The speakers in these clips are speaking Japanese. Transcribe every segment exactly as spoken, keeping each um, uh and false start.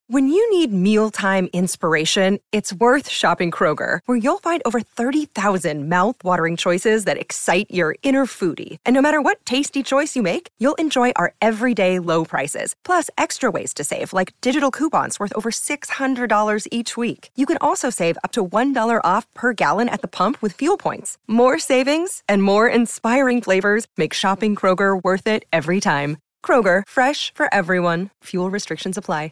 When you need mealtime inspiration, it's worth shopping Kroger, where you'll find over thirty thousand mouth-watering choices that excite your inner foodie. And no matter what tasty choice you make, you'll enjoy our everyday low prices, plus extra ways to save, like digital coupons worth over six hundred dollars each week. You can also save up to one dollar off per gallon at the pump with fuel points. More savings and more inspiring flavors make shopping Kroger worth it every time. Kroger, fresh for everyone. Fuel restrictions apply.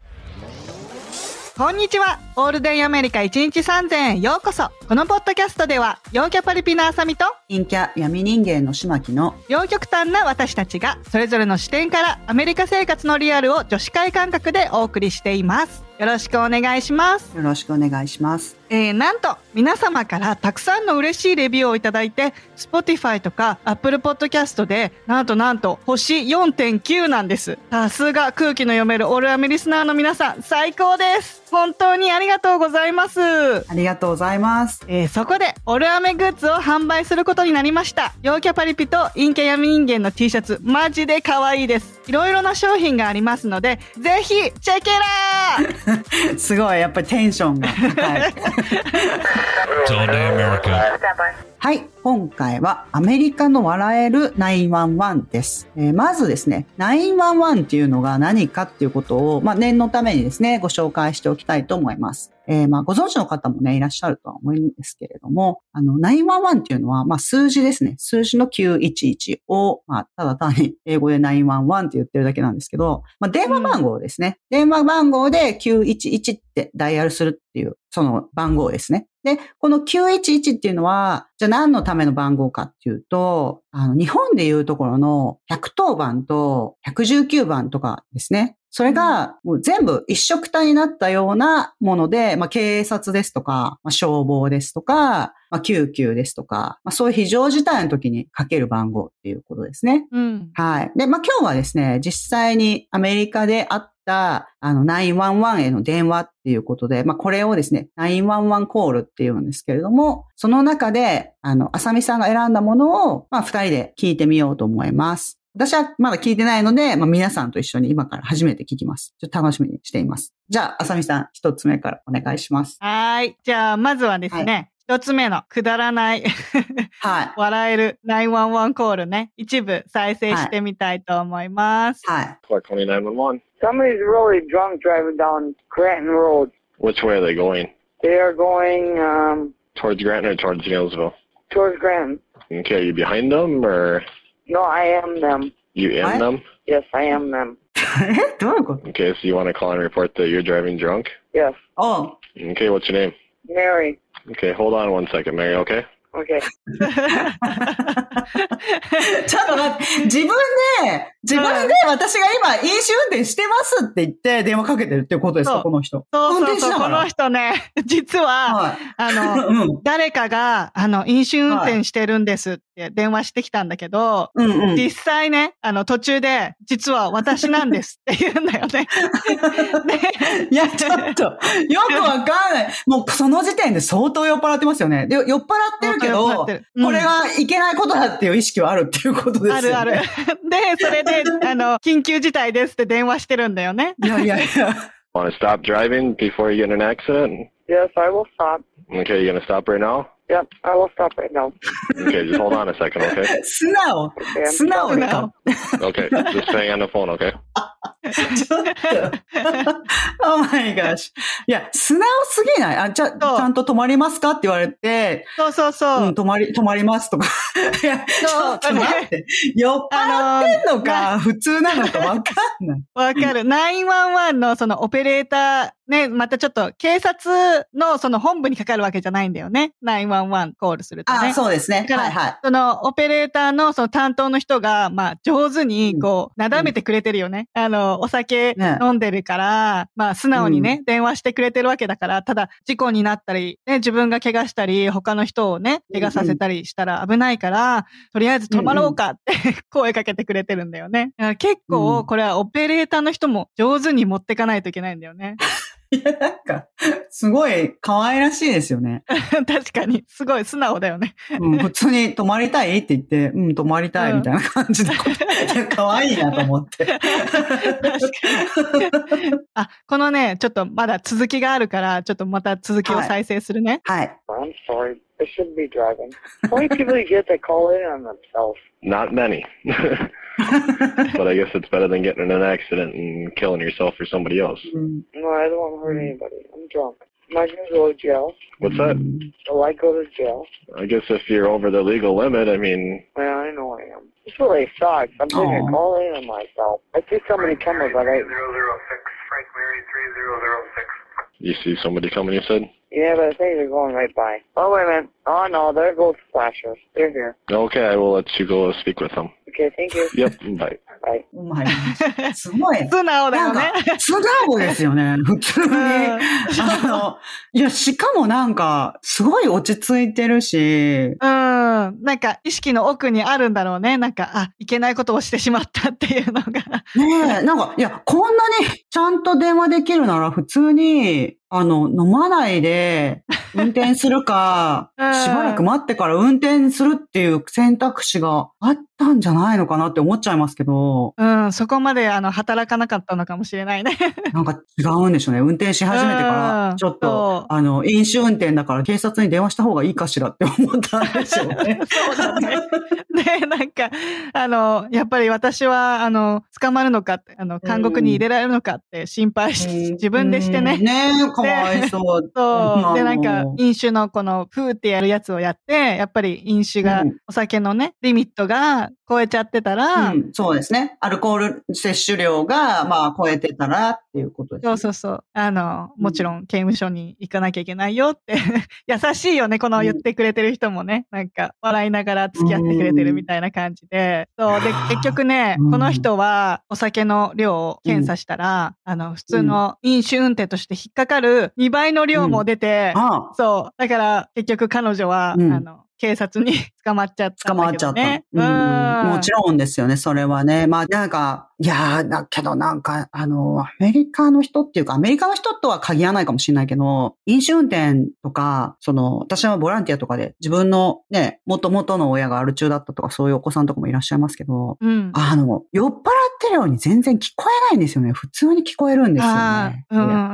こんにちは。オールデンアメリカいちにちさんぜんえんへようこそ。このポッドキャストでは、陽キャパリピのあさみと陰キャ闇人間のしまきの両極端な私たちがそれぞれの視点からアメリカ生活のリアルを女子会感覚でお送りしています。よろしくお願いします。 よろしくお願いします。 えー、なんと皆様からたくさんの嬉しいレビューをいただいて Spotify とか Apple Podcast でなんとなんと星 よんてんきゅう なんです。さすが空気の読めるオールアメリスナーの皆さん最高です。本当にありがとうございます。 ありがとうございます。 えー、そこでオールアメグッズを販売することになりました。陽キャパリピと陰キャ闇人間の T シャツマジで可愛いです。いろいろな商品がありますのでぜひチェケラーすごいやっぱりテンションが高いはい、今回はアメリカの笑えるナインワンワンです、えー、まずですねナインワンワンっていうのが何かっていうことを、まあ、念のためにですねご紹介しておきたいと思います。えー、まあご存知の方もねいらっしゃるとは思うんですけれども、あのナインワンワンっていうのはまあ数字ですね。数字のきゅういちいちをまあただ単に英語でナインワンワンって言ってるだけなんですけど、まあ電話番号ですね。うん、電話番号できゅういちいちってダイヤルするっていうその番号ですね。で、このきゅういちいちっていうのは、じゃあ何のための番号かっていうと、あの、日本でいうところのひゃくとおばんとひゃくじゅうきゅうばんとかですね。それがもう全部一色体になったようなもので、まあ、警察ですとか、まあ、消防ですとか、まあ、救急ですとか、まあ、そういう非常事態の時にかける番号っていうことですね。 うん、 はい。で、まあ、今日はですね、実際にアメリカであったあのナインワンワンへの電話っていうことで、まあ、これをですね、ナインワンワンコールっていうんですけれども、その中で、あの、あさみさんが選んだものを、まあ、二人で聞いてみようと思います。私はまだ聞いてないので、まあ、皆さんと一緒に今から初めて聞きます。ちょっと楽しみにしています。じゃあ、あさみさん、一つ目からお願いします。 はい。じゃあ、まずはですね、一、はい、つ目のくだらない、はい、笑えるナインワンワンコールね、一部再生してみたいと思います。 はい。 Clark County nine one one. Somebody's really drunk driving down Granton Road. Which way are they going? They are going, um... Towards Granton or towards Neillsville? Towards Granton. Okay, are you behind them or...? No, I am them. You in what? them? Yes, I am them. Okay, so you want to call and report that you're driving drunk? Yes. Oh. Okay, what's your name? Mary. Okay, hold on one second, Mary, okay? Okay. ちょっと待って、自分で、自分で私が今飲酒運転してますって言って電話かけてるっていうことですか、この人。 そうそうそう、この人ね、実は、はい、あの、うん、誰かが、あの、飲酒運転してるんですって電話してきたんだけど、うんうん、実際ね、あの、途中で、実は私なんですって言うんだよね。 いや、ちょっと、よくわかんない。もうその時点で相当酔っ払ってますよね。で、酔っ払ってるけど、うん、これはいけないことだっていう意識はあるっていうことですよね。 あるある。で、それで、あの、緊急事態ですって電話してるんだよね。 いやいやいや。 Want to stop driving before you get in an accident? Yes, I will stop. Okay, you gonna stop right now? Yep, I will stop right now. Okay, just hold on a second, okay? 素直。 Okay, 素直か。 Okay, just stay on the phone, okay? ちょっと。Oh my gosh. いや、素直すぎないあ、じゃ、ちゃんと止まりますかって言われて。 そうそうそう。 うん、止まり、止まりますとか。いや、ちょっと待って。酔っ払ってんのか、普通なのかわかんない。 わかる。ナインワンワンのそのオペレーター、ね、またちょっと警察のその本部にかかるわけじゃないんだよね。ナインワンワンコールするとね。 あ、そうですね。はいはい。 そのオペレーターのその担当の人が、まあ上手にこう、なだめてくれてるよね。うん、あの、お酒飲んでるから、ね、まあ素直にね、うん、電話してくれてるわけだから、ただ事故になったり、ね、自分が怪我したり、他の人をね、怪我させたりしたら危ないから、うん、とりあえず止まろうかって声かけてくれてるんだよね。結構これはオペレーターの人も上手に持ってかないといけないんだよね。 いや、なんか、すごい可愛らしいですよね。 確かに、すごい素直だよね。 うん、普通に泊まりたいって言って、うん、泊まりたいみたいな感じで、うん、いや、可愛いなと思って。確かに。あ、このね、ちょっとまだ続きがあるから、ちょっとまた続きを再生するね。 はい。 はい、I'm sorry. I shouldn't be driving. How many people do you get that call in on themselves? Not many. But I guess it's better than getting in an accident and killing yourself or somebody else. Mm. No, I don't want to hurt anybody. I'm drunk. Am I going to go to jail? What's that? Will I go to jail? I guess if you're over the legal limit, I mean... Well, I know I am. This really sucks. I'm going to call in on myself. I see somebody coming, but I... zero zero six, Frank Mary three zero zero six. You see somebody coming, you said? Yeah, but I think they're going right by. Oh, wait a minute. Oh, no, there goes the flashers. They're here. Okay, I will let you go speak with them. Okay, thank you. Yep, bye. Bye. お前、すごい。 素直だよね。 素直ですよね。普通に。あの、いや、しかもなんか、すごい落ち着いてるし。 うん。なんか、意識の奥にあるんだろうね。なんか、あ、いけないことをしてしまったっていうのが。ねえ、なんか、いや、こんなにちゃんと電話できるなら、普通に、あの、飲まないで、運転するか、しばらく待ってから運転するっていう選択肢があったんじゃないのかなって思っちゃいますけど。 うん、そこまであの働かなかったのかもしれないね。 なんか違うんでしょうね。運転し始めてから、ちょっと、あの、飲酒運転だから警察に電話した方がいいかしらって思ったんでしょうね。 そうだね。で、なんか、あの、やっぱり私は、あの、捕まるのかって、あの、監獄に入れられるのかって心配し、自分でしてね。 ねえ、かわいそう。 そう。で、なんか、飲酒のこの、ふーってやるやつをやって、やっぱり飲酒が、お酒のね、リミットが超えちゃってたら、 うん、そうですね。アルコール摂取量が、まあ、超えてたらっていうことですね。 そうそうそう。あの、もちろん刑務所に行かなきゃいけないよって。優しいよね、この言ってくれてる人もね。なんか、笑いながら付き合ってくれてるみたいな感じで。そう。で、結局ね、この人はお酒の量を検査したら、あの、普通の飲酒運転として引っかかるにばいの量も出て、そう。だから、結局彼女は、あの、警察に捕まっちゃったんだけどね。 捕まっちゃった。うん。もちろんですよね、それはね。まあなんか、いやー、だけどなんか、あの、アメリカの人っていうか、アメリカの人とは限らないかもしれないけど、飲酒運転とか、その、私はボランティアとかで自分のね、元々の親がアル中だったとか、そういうお子さんとかもいらっしゃいますけど、うん、あの、酔っ払ってるように全然聞こえないんですよね。普通に聞こえるんですよね。 うんうんうん。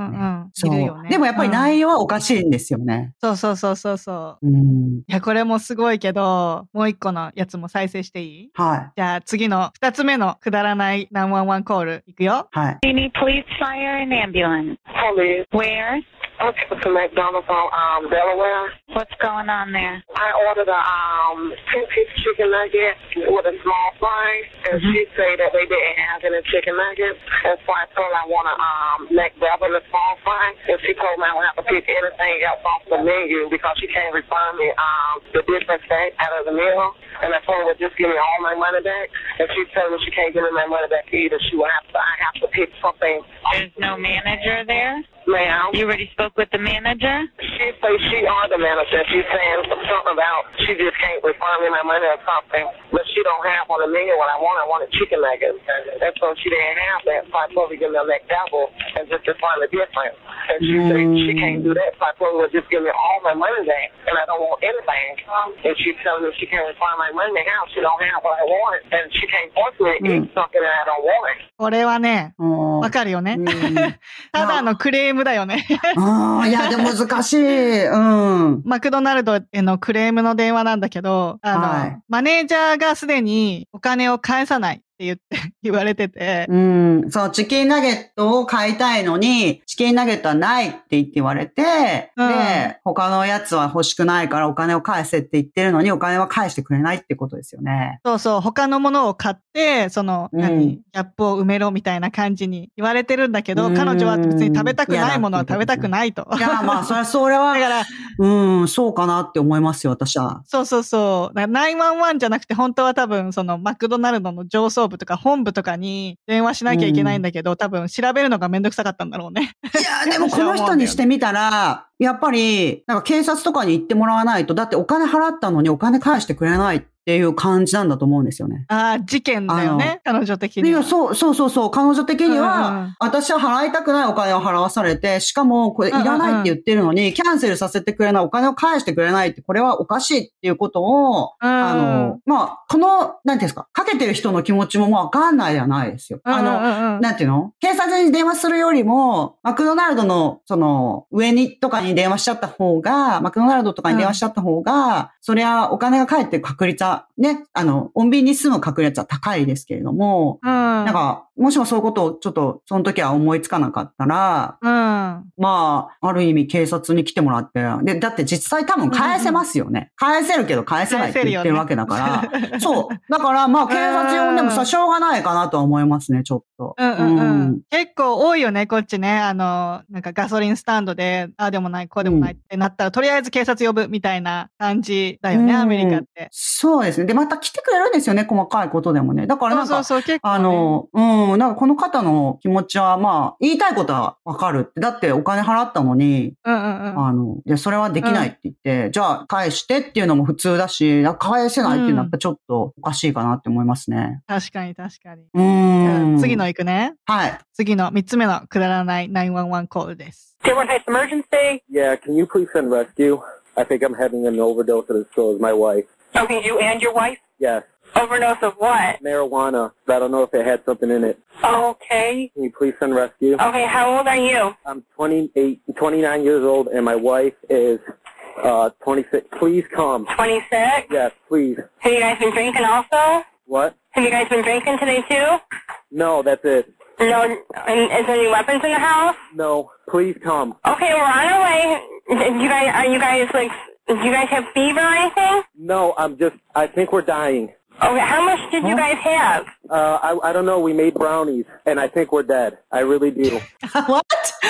そう。いるよね。でもやっぱり内容はおかしいんですよね。 うん、そうそうそうそう。うん。いや、これもすごいけど、もう一個のやつも再生していい？ はい。 じゃあ次の二つ目のくだらないナインワンワンコールいくよ。 はい。 You need police, fire, and ambulance. Police. Where? Okay, to McDonald's on um, Delaware. What's going on there? I ordered a um, ten-piece chicken nugget with a small fry, and mm-hmm. she said that they didn't have any chicken nuggets. And so I told her I want a um, McDouble and a small fry, and she told me I would have to pick anything else off the menu because she can't refund me um, the difference back out of the meal. And I told her to just give me all my money back, and she told me she can't give me my money back either. She will have to, I have to pick something. There's no manager there? Ma'am. You already spoke with the manager? She says she are the manager. She's saying something about she just can't refund me my money or something. But she don't have on the menu what I want. I want a chicken nugget. And so she didn't have that. So I told her to give me a McDouble and just refund the difference. And she mm. said she can't do that. So I told her to just give me all my money back. And I don't want anything. And she's telling me she can't refund my money now. She don't have what I want. And she can't force me to eat something that I don't want. これはね、わかるよね。ただのクレームだよね。 ああ、いや、でも難しい。うん。 マクドナルドへのクレームの電話なんだけど、あの、はい、マネージャーがすでにお金を返さないって言って、言われてて。 うん。そう、チキンナゲットを買いたいのに、チキンナゲットはないって言って言われて、うん、で、他のやつは欲しくないからお金を返せって言ってるのに、お金は返してくれないってことですよね。 そうそう、他のものを買って、その、うん、何、ギャップを埋めろみたいな感じに言われてるんだけど、彼女は別に食べたくないものは食べたくないと。 いや、まあ、それは、それは、だから、うん、そうかなって思いますよ、私は。 そうそうそう。だからナインワンワンじゃなくて、本当は多分、その、マクドナルドの上層部とか本部とかに電話しなきゃいけないんだけど、うん、多分調べるのがめんどくさかったんだろうね。 いや、でもこの人にしてみたら、やっぱり、なんか警察とかに行ってもらわないと、だってお金払ったのにお金返してくれないってっていう感じなんだと思うんですよね。 ああ、事件だよね。彼女的には。 いや、そう、そうそうそう。彼女的には、うんうん、私は払いたくないお金を払わされて、しかもこれいらないって言ってるのに、うんうんうん、キャンセルさせてくれない、お金を返してくれないって、これはおかしいっていうことを、うん、あの、まあ、この、なんていうんですか、かけてる人の気持ちももうわかんないではないですよ。あの、うんうんうん、なんていうの？警察に電話するよりも、マクドナルドの、その、上にとかに電話しちゃった方が、マクドナルドとかに電話しちゃった方が、うん、そりゃお金が返ってる確率は、ね、あの、穏便に済む確率は高いですけれども、うん、なんか、もしもそういうことをちょっと、その時は思いつかなかったら、うん、まあ、ある意味警察に来てもらって、で、だって実際多分返せますよね。うん、返せるけど返せないって言ってるわけだから、ね、そう。だからまあ、警察呼んでもさ、しょうがないかなとは思いますね、ちょっと。 うんうんうんうん、結構多いよね、こっちね。あの、なんかガソリンスタンドで、ああでもない、こうでもないってなったら、うん、とりあえず警察呼ぶみたいな感じだよね、うん、アメリカって。 そうですね。で、また来てくれるんですよね、細かいことでもね。だからなんか、 そうそうそう結構ね、 あの、うん、なんかこの方の気持ちは、まあ、言いたいことはわかるって。だってお金払ったのに、 うんうんうん、 あの、いや、それはできないって言って、うん、じゃあ返してっていうのも普通だし、返せないっていうのはやっぱちょっとおかしいかなって思いますね。 うん、確かに確かに。 うん。 次の行くね。 はい。 次の三つ目のくだらないナインワンワンコールです。 Dearborn Heights emergency? Yeah, can you please send rescue? I think I'm having an overdose and so is my wife. Okay, you and your wife? Yes. Overdose of what? Marijuana. But I don't know if it had something in it. Okay. Can you please send rescue? Okay, how old are you? I'm twenty-eight, twenty-nine years old and my wife is uh twenty-six. Please come. twenty-six? Yes, please. Have you guys been drinking also? What? Have you guys been drinking today too? No, that's it. No, and is there any weapons in the house? No, please come. Okay, we're on our way. You guys, are you guys like, do you guys have fever or anything? No, I'm just, I think we're dying. Okay, how much did you guys have? Uh, I, I don't know, we made brownies, and I think we're dead. I really do. What?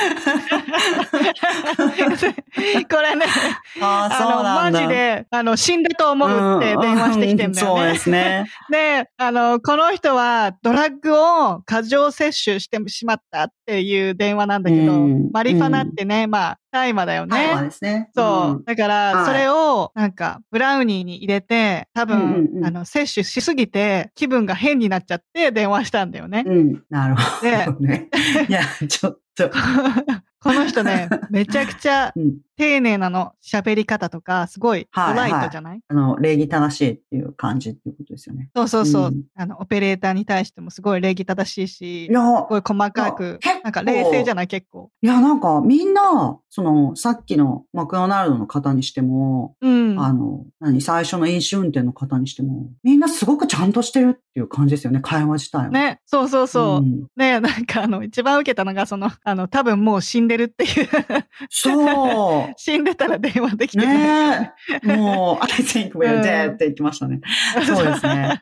これね、 ああ、 の、マジで、あの、死んだと思うって電話してきてんだよね。 そうですね。 で、あの、この人はドラッグを過剰摂取してしまったっていう電話なんだけど、マリファナってね、まあ、大麻だよね。 大麻ですね。 そう。だから、それを、なんか、ブラウニーに入れて、多分、あの、摂取しすぎて、気分が変になっちゃって電話したんだよね。 うん、なるほどね。いや、ちょっと。 この人ね、めちゃくちゃ丁寧なの、喋り方とか、すごいドライトじゃない？はいはい、 あの、礼儀正しいっていう感じっていうことですよね。 そうそうそう。うん、あの、オペレーターに対してもすごい礼儀正しいし、いやすごい細かく、なんか冷静じゃない結構。 いや、なんかみんな、その、さっきのマクドナルドの方にしても、うん、あの、何、最初の飲酒運転の方にしても、みんなすごくちゃんとしてるっていう感じですよね、会話自体は。 ね、そうそうそう。うん、ね、なんかあの、一番受けたのが、その、あの、多分もう死んでるっていう。 そう。 死んでたら電話できてない。ね、もう、I think we're dead って言ってましたね。うん、そうですね。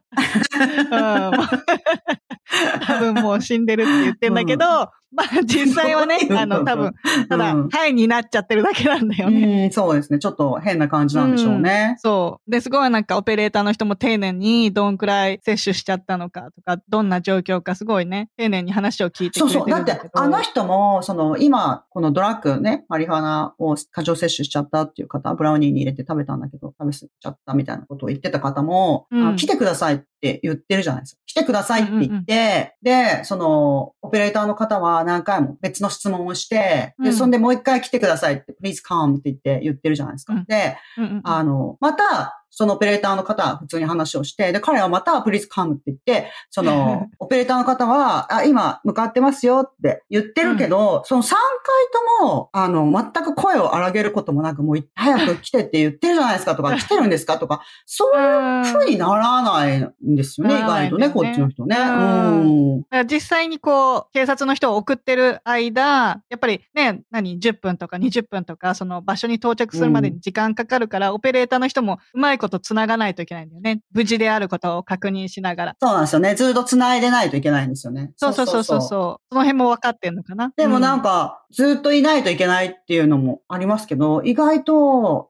多分もう死んでるって言ってんだけど、うんまあ実際はね、あの多分、ただ、うん、ハイになっちゃってるだけなんだよね。 うん、そうですね。ちょっと変な感じなんでしょうね。 うん、そう。で、すごいなんかオペレーターの人も丁寧にどんくらい摂取しちゃったのかとか、どんな状況かすごいね、丁寧に話を聞いてくれてるんだけど。そうそう。だってあの人も、その今、このドラッグね、マリファナを過剰摂取しちゃったっていう方、ブラウニーに入れて食べたんだけど、食べ過ぎちゃったみたいなことを言ってた方も、うん、来てくださいって言ってるじゃないですか。来てくださいって言って、うんうんうん、で、その、オペレーターの方は何回も別の質問をして、で、そんでもう一回来てくださいって、please come って言って言ってるじゃないですか。うん、で、うんうんうん、あの、また、そのオペレーターの方は普通に話をして、で、彼はまた please come って言って、その、オペレーターの方は、あ、今向かってますよって言ってるけど、うん、そのさんかいとも、あの、全く声を荒げることもなく、もう早く来てって言ってるじゃないですかとか、来てるんですかとか、そういう風にならないんですよね、意外とね、こっちの人ね。うんうん、実際にこう、警察の人を送ってる間、やっぱりね、何、じゅっぷんとかにじゅっぷんとか、その場所に到着するまでに時間かかるから、うん、オペレーターの人もうまいこと繋がないといけないんだよね。無事であることを確認しながら。 そうなんですよね。ずっと繋いでないといけないんですよね。 そうそうそうそう。その辺も分かってんのかな。 でもなんか、うん、ずっといないといけないっていうのもありますけど、意外と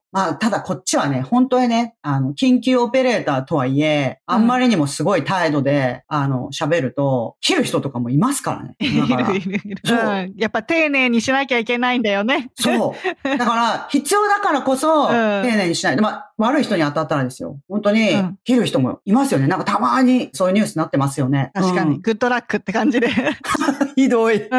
まあ、ただこっちはね、本当にね、あの、緊急オペレーターとはいえ、あんまりにもすごい態度で、うん、あの、喋ると、切る人とかもいますからね。だからいるいるいる。そう、うん。やっぱ丁寧にしなきゃいけないんだよね。 そう。だから、必要だからこそ、丁寧にしない。うん、まあ、悪い人に当たったらですよ。本当に、切る人もいますよね。なんかたまにそういうニュースになってますよね。 確かに。うん、グッドラックって感じで。 ひどい。うん、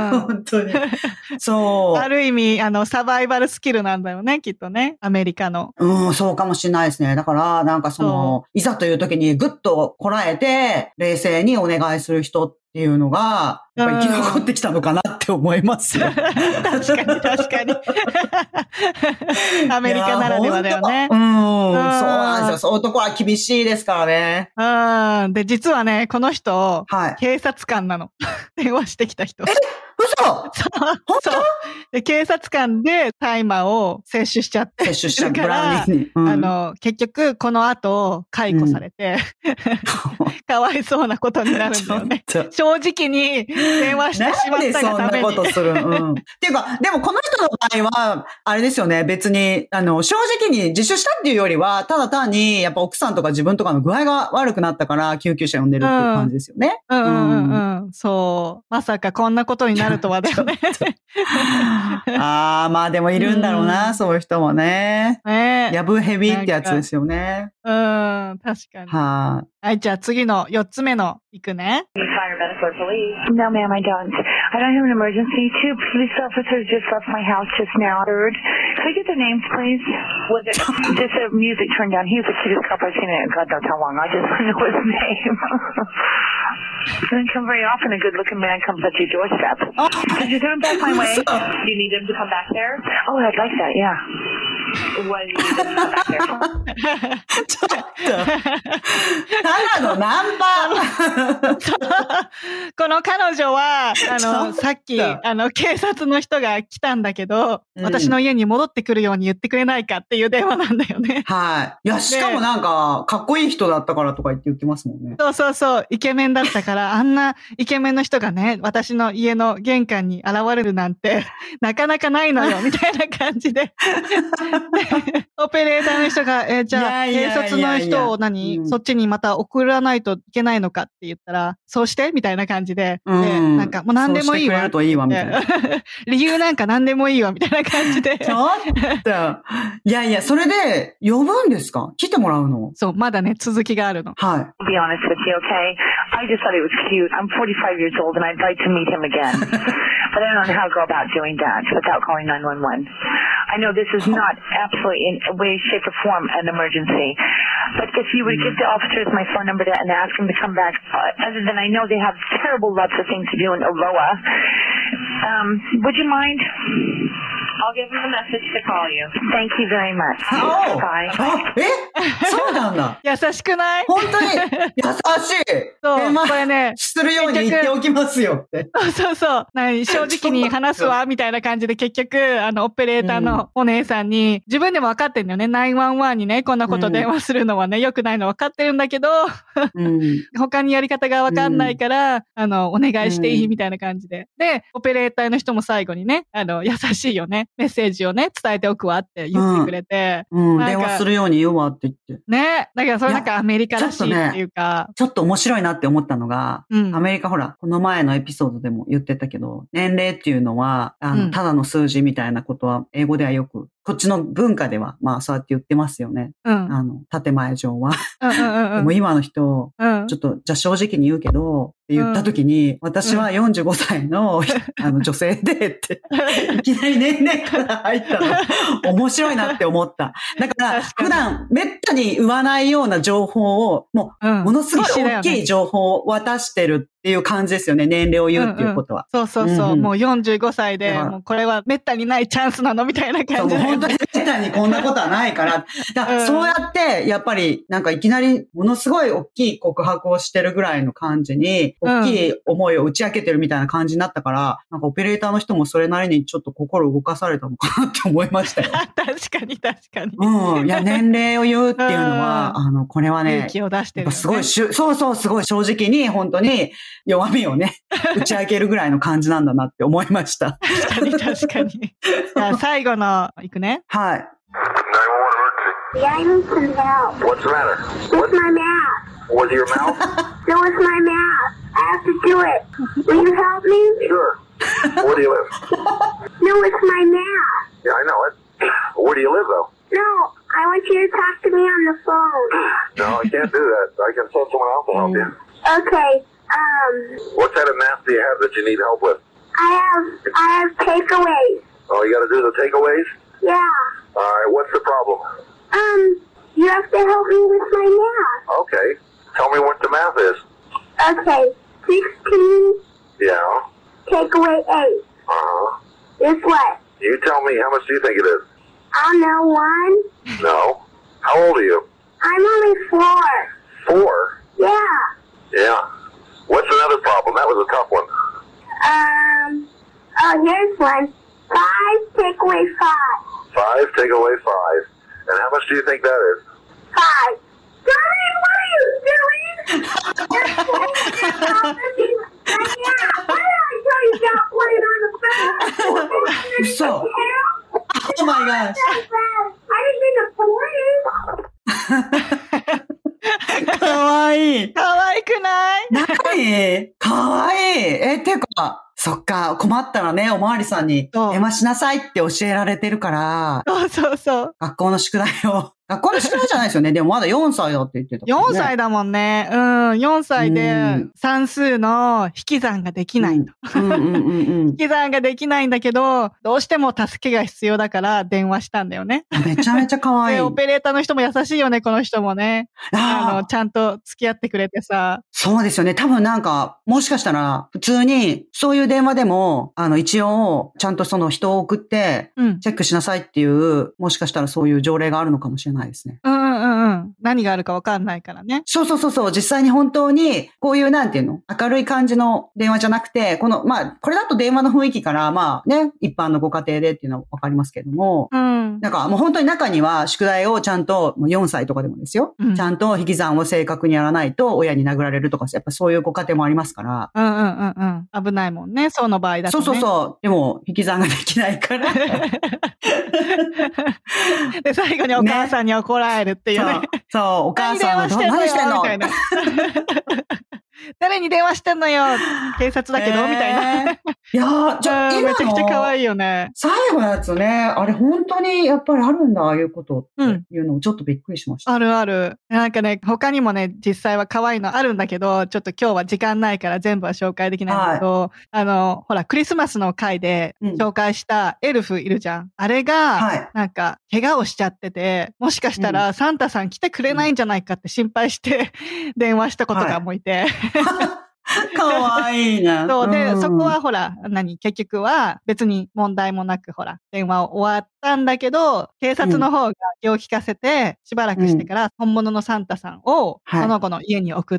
本当に。そう。 ある意味、あの、サバイバルスキルなんだよね、きっとね。アメリカの。 うん、そうかもしれないですね。だから、なんかその、いざという時にグッとこらえて、冷静にお願いする人っていうのが、やっぱり生き残ってきたのかなって思いますよ。 確かに確かに。アメリカならではだよね。 うん、そうなんですよ。そういうところは厳しいですからね。 うん。で、実はね、この人、はい、警察官なの。電話してきた人。 え嘘本当で、警察官で大麻を摂取しちゃって。 摂取しちゃうから、うん、 あの、結局、この後、解雇されて、うん、かわいそうなことになるんだよね。正直に電話してしまったがために。 なんでそんなことする、うん、っていうか、でもこの人の場合は、あれですよね、別に、あの、正直に自首したっていうよりは、ただ単に、やっぱ奥さんとか自分とかの具合が悪くなったから、救急車呼んでるっていう感じですよね。 うん、うん、うんうんうん。そう。まさかこんなことになるとはだよね。 ああ、まあでもいるんだろうな、うん、そういう人もね。 ねやぶヘビってやつですよね。 うん、確かに。 ははい、じゃあ次のよっつめのいくね。 No, ma'am, I don't. I don't have an emergency. Two police officers just left my house just now. Third, could I get their names, please? Was it just the music turned down? He was the cutest couple I've seen in God knows how long. I just want to know his name. Doesn't come very often. A good-looking man comes at your doorstep. Oh. Could you turn back my way? Do you need him to come back there? Oh, I'd like that. Yeah. What do you need him to come back there? ちょっと。ただのナンパこの彼女は、あの、さっき、あの、警察の人が来たんだけど、うん、私の家に戻ってくるように言ってくれないかっていう電話なんだよね。 はい。いや、しかもなんか、かっこいい人だったからとか言って言ってますもんね。 そうそうそう、イケメンだったから、あんなイケメンの人がね、私の家の玄関に現れるなんて、なかなかないのよ、みたいな感じで。オペレーターの人が、えー、じゃあ、警察の人を何、うん、そっちにまた送らないといけないのかって言ったら、そうしてみたいな感じで、 うん、 でなんかもう何でもいいわ。 そうしてくれるといいわみたいな。 理由なんか何でもいいわみたいな感じで。 ちょっと。いやいや、それで呼ぶんですか？来てもらうの？ そう、まだね、続きがあるの。 はい。 Be honest with you, okay? I just thought it was cute. I'm forty-five years old and I'd like to meet him again. But I don't know how to go about doing that without calling nine one one. I know this is not absolutely in a way, shape, or form an emergency. But if you would give the officers my phone number and ask them to come back, uh, other than I know they have terrible lots of things to do in Aroa, um, would you mind? I'll give them a message to call you. Thank you very much. Oh! Bye. え？そうなんだ。 優しくない？ 本当に優しい。 そう、 え、まあ、 これね。 するように言っておきますよって。 そうそうそう。何正直に話すわ、みたいな感じで結局、あの、オペレーターのお姉さんに、自分でも分かってんだよね。ナインワンワンにね、こんなこと電話するのはね、良くないの分かってるんだけど、うん、他にやり方が分かんないから、うん、あの、お願いしていいみたいな感じで。で、オペレーターの人も最後にね、あの、優しいよね。メッセージをね、伝えておくわって言ってくれて。 うん、うん、電話するように言うわって言って。 ね。だからそれなんかアメリカらしいっていうか。 ちょっとね、ちょっと面白いなって思ったのが、うん、アメリカほら、この前のエピソードでも言ってたけど、年齢っていうのは、あの、うん、ただの数字みたいなことは、英語ではよく、こっちの文化では、まあそうやって言ってますよね。うん。あの、建前上は。うんうんうんうん、でも今の人、うん、ちょっと、じゃあ正直に言うけど、って言った時に、うん、私はよんじゅうごさいの、うん、あの女性でって、いきなり年齢から入ったの、面白いなって思った。だから、普段、めったに言わないような情報を、もう、うん、ものすごい大きい情報を渡してるっていう感じですよね、年齢を言うっていうことは。 うんうん、そうそうそう、うんうん、もうよんじゅうごさいで、もうこれはめったにないチャンスなのみたいな感じで。 本当にめったにこんなことはないから。だからそうやって、やっぱり、なんかいきなり、ものすごい大きい告白をしてるぐらいの感じに、大きい思いを打ち明けてるみたいな感じになったから、なんかオペレーターの人もそれなりにちょっと心動かされたのかなって思いましたよ。 確かに確かに。 うん。いや、年齢を言うっていうのは、あの、これはね、 勇気を出してる、ね。 すごいしゅ、そうそう、すごい正直に、本当に弱みをね、打ち明けるぐらいの感じなんだなって思いました。 確かに確かに。じゃあ最後の、いくね。 はい。 Yeah, I need some help. What's the matter? With my math. With your mouth? No, it's my math. I have to do it. Will you help me? Sure. Where do you live? No, it's my math. Yeah, I know it. Where do you live, though? No, I want you to talk to me on the phone. No, I can't do that. I can send someone else to help you. Okay, um... What kind of math do you have that you need help with? I have, I have takeaways. Oh, you gotta do the takeaways? Yeah. Alright, what's the problem? Um, you have to help me with my math. Okay. Tell me what the math is. Okay, sixteen. Yeah. Take away eight. Uh-huh. Is what? You tell me, how much do you think it is? I don't know, one. No. How old are you? I'm only four. Four? Yeah. Yeah. What's another problem? That was a tough one. Um, oh, here's one. Five, take away five. Five, take away five. And how much do you think that is? Five. Darling, what are you doing? You're holding your yeah. Why did I tell you not playing on the phone? So. Oh my gosh. I didn't mean to bore you. かわいい。 かわいくない何かわいい。え、てか、そっか、困ったらね、おまわりさんに電話しなさいって教えられてるから、 そうそうそう。 学校の宿題を。学校の宿題じゃないですよね。でもまだよんさいだって言ってた、ね。 よんさいだもんね。うん。よんさいで算数の引き算ができないと。引き算ができないんだけど、どうしても助けが必要だから電話したんだよね。 めちゃめちゃ可愛い。 で、オペレーターの人も優しいよね、この人もね。あの、ちゃんと付き合ってくれてさ。 そうですよね。多分なんか、もしかしたら、普通に、そういう電話でも、あの、一応、ちゃんとその人を送って、チェックしなさいっていう、うん、もしかしたらそういう条例があるのかもしれないですね。 うんうんうん。何があるかわかんないからね。 そうそうそうそう。実際に本当に、こういうなんていうの明るい感じの電話じゃなくて、この、まあ、これだと電話の雰囲気から、まあね、一般のご家庭でっていうのはわかりますけれども、うん。なんかもう本当に中には宿題をちゃんと、もうよんさいとかでもですよ、うん。ちゃんと引き算を正確にやらないと親に殴られるとか、やっぱそういうご家庭もありますから。 うんうんうんうん。危ないもんね、その場合だとね。 そうそうそう。でも、引き算ができないから。 で、最後にお母さんに怒られるっていうね。 ねそう、そう、お母さんは何してんのみたいな。 誰に電話してんのよ警察だけど、えー、みたいな。いやー、ちょ、今のめちゃくちゃ可愛いよね。 最後のやつね、あれ本当にやっぱりあるんだ、ああいうことっていうのをちょっとびっくりしました。 うん、あるある。なんかね、他にもね、実際は可愛いのあるんだけど、ちょっと今日は時間ないから全部は紹介できないんだけど、はい、あの、ほら、クリスマスの回で紹介したエルフいるじゃん。うん、あれが、はい、なんか、怪我をしちゃってて、もしかしたらサンタさん来てくれないんじゃないかって心配して電話したことがもいて。はいかわいいな。 そうで、うん、そこはほら、何、結局は別に問題もなくほら、電話を終わったんだけど、警察の方が気を利かせて、しばらくしてから本物のサンタさんを、その子の家に送って、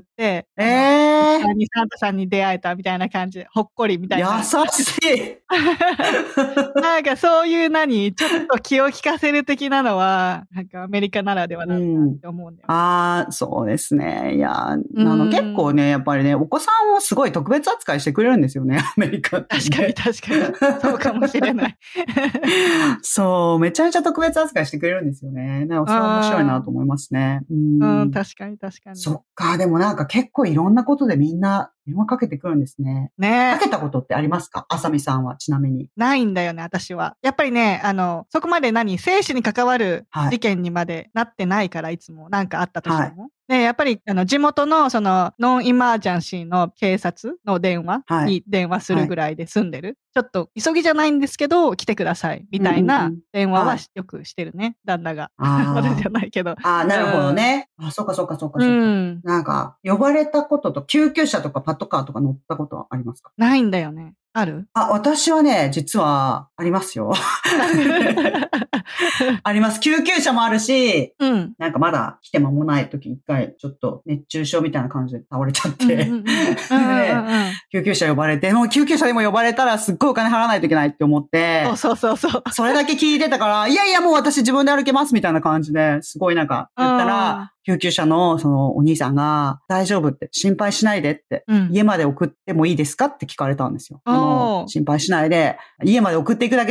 はい、えー、サンタさんに出会えたみたいな感じで、ほっこりみたいな。 優しいなんかそういう何、ちょっと気を利かせる的なのは、なんかアメリカならではだなって思うんだよ、ねうん。ああ、そうですね。いや、あの、結構ね、やっぱりね、お子さんをすごい特別扱いしてくれるんですよね、アメリカって、ね。 確かに確かに。そうかもしれない。 そう、めちゃめちゃ特別扱いしてくれるんですよね。なんかそれは面白いなと思いますね。 うん、うん、確かに確かに。 そっか、でもなんか結構いろんなことでみんな電話かけてくるんですね。 ねかけたことってありますか？あさみさんはちなみに。 ないんだよね、私は。やっぱりね、あの、そこまで何、生死に関わる事件にまでなってないから、はい、いつもなんかあったとしても。はいで、やっぱり、あの、地元の、その、ノンイマージャンシーの警察の電話に電話するぐらいで済んでる。はいはい、ちょっと、急ぎじゃないんですけど、来てください。みたいな電話はよくしてるね、旦那が。私じゃないけど。 ああ、なるほどね。うん、あ、そうかそうかそうかそうか。うん、なんか、呼ばれたことと、救急車とかパトカーとか乗ったことはありますか？ ないんだよね。ある？ あ、私はね、実は、ありますよ。あります。救急車もあるし、うん、なんかまだ来て間もない時一回ちょっと熱中症みたいな感じで倒れちゃって、救急車呼ばれて、もう救急車でも呼ばれたらすっごいお金払わないといけないって思って、 そうそうそうそう。 それだけ聞いてたから、いやいやもう私自分で歩けますみたいな感じで、すごいなんか言ったら、救急車のそのお兄さんが大丈夫って心配しないでって、うん、家まで送ってもいいですかって聞かれたんですよ。あの心配しないで家まで送っていくだけだからって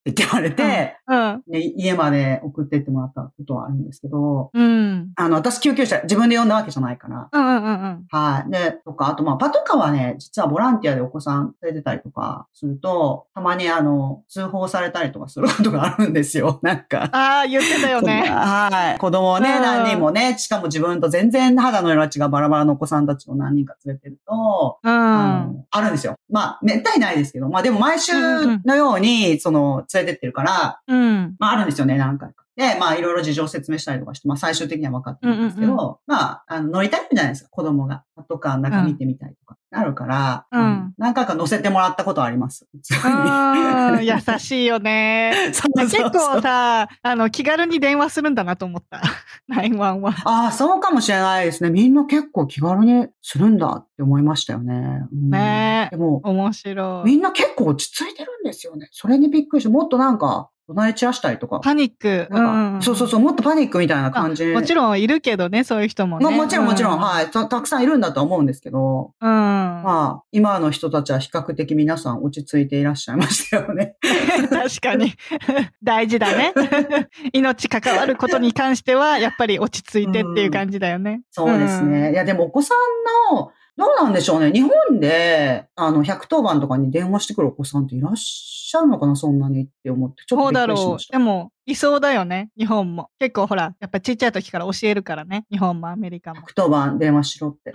って言われて、 うん。 で家まで送ってってもらったことはあるんですけど、 うん。 あの、私救急車自分で呼んだわけじゃないから。 うんうんうんうん。 はい。で、とか、あとまあ、パトカーはね、実はボランティアでお子さん連れてたりとかすると、たまにあの、通報されたりとかすることがあるんですよ。なんか。 ああ、言ってたよね。 はい。子供をね、何人もね、しかも自分と全然肌の色が違うバラバラのお子さんたちを何人か連れてると、 うん。 あの、あるんですよ。まあ、めったにないですけど、まあでも毎週のように、その、連れてってるから、 うん。 まああるんですよね、何回か。で、まあいろいろ事情を説明したりとかして、まあ最終的には分かってるんですけど、うんうんうん、まあ、あの、乗りたいじゃないですか、子供が。パトカーの中見てみたいとか、なるから、うん、何回か乗せてもらったことあります。 うん、優しいよね。そうそうそう。結構さ、あの、気軽に電話するんだなと思った。ナインワンワン。 ああ、そうかもしれないですね。みんな結構気軽にするんだって思いましたよね。うん、 ねえ。 でも、 面白い。 みんな結構落ち着いてるんですよね。それにびっくりして、もっとなんか、隣散らしたりとか。 パニック。 なんか、うん、そうそうそう、もっとパニックみたいな感じ。 もちろんいるけどね、そういう人もね。 もちろんもちろん、うん、はいた。たくさんいるんだと思うんですけど。 うん。 まあ、今の人たちは比較的皆さん落ち着いていらっしゃいましたよね。 確かに。大事だね。命関わることに関しては、やっぱり落ち着いてっていう感じだよね。うん、 そうですね。うん、いや、でもお子さんの、どうなんでしょうね。日本で、あの、ひゃくとおばんとかに電話してくるお子さんっていらっしゃるのかな、そんなにって思って、ちょっとびっくりしました。 そうだろう。でも、いそうだよね、日本も。結構ほら、やっぱちっちゃい時から教えるからね、日本もアメリカも。 ひゃくとおばん電話しろって。 うん。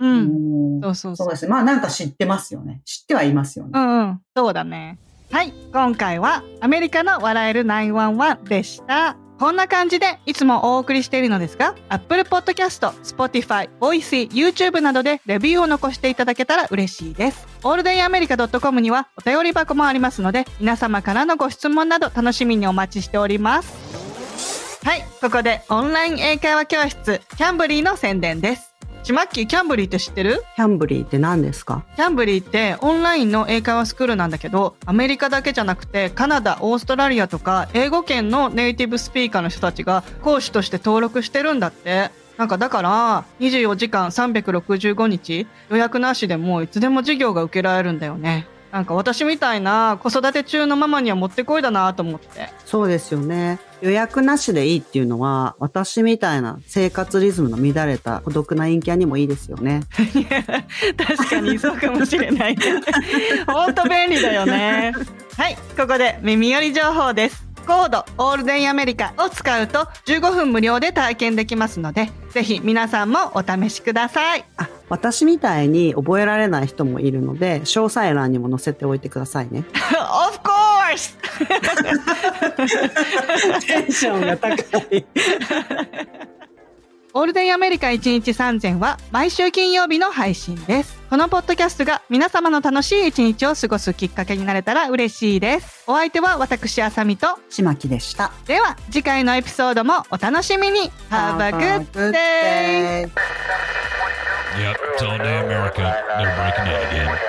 そうそうそう。 そうですね。まあなんか知ってますよね。知ってはいますよね。 うんうん。そうだね。はい。今回はアメリカの笑えるナインワンワンでした。こんな感じでいつもお送りしているのですが、Apple Podcast、Spotify、Voicy、YouTube などでレビューを残していただけたら嬉しいです。オールデンアメリカ .com にはお便り箱もありますので、皆様からのご質問など楽しみにお待ちしております。はい、ここでオンライン英会話教室キャンブリーの宣伝です。ちまっきー、キャンブリーって知ってる？ キャンブリーって何ですか？ キャンブリーってオンラインの英会話スクールなんだけど、アメリカだけじゃなくてカナダ、オーストラリアとか英語圏のネイティブスピーカーの人たちが講師として登録してるんだって。なんかだからにじゅうよじかんさんびゃくろくじゅうごにち予約なしでもいつでも授業が受けられるんだよね。なんか私みたいな子育て中のママにはもってこいだなと思って。 そうですよね。予約なしでいいっていうのは、私みたいな生活リズムの乱れた孤独な陰キャにもいいですよね。 いや、確かにそうかもしれない。ほんと便利だよね。はい、ここで耳寄り情報です。コードオールデンアメリカを使うとじゅうごふん無料で体験できますので、ぜひ皆さんもお試しください。 あ、私みたいに覚えられない人もいるので、詳細欄にも載せておいてくださいね。 Of course! テンションが高い。 オールデンアメリカいちにちさんぜんは毎週金曜日の配信です。このポッドキャストが皆様の楽しい一日を過ごすきっかけになれたら嬉しいです。お相手は私あさみとちまきでした。 では次回のエピソードもお楽しみに。 Have a good day! Yep, it's all day America. They're breaking out again.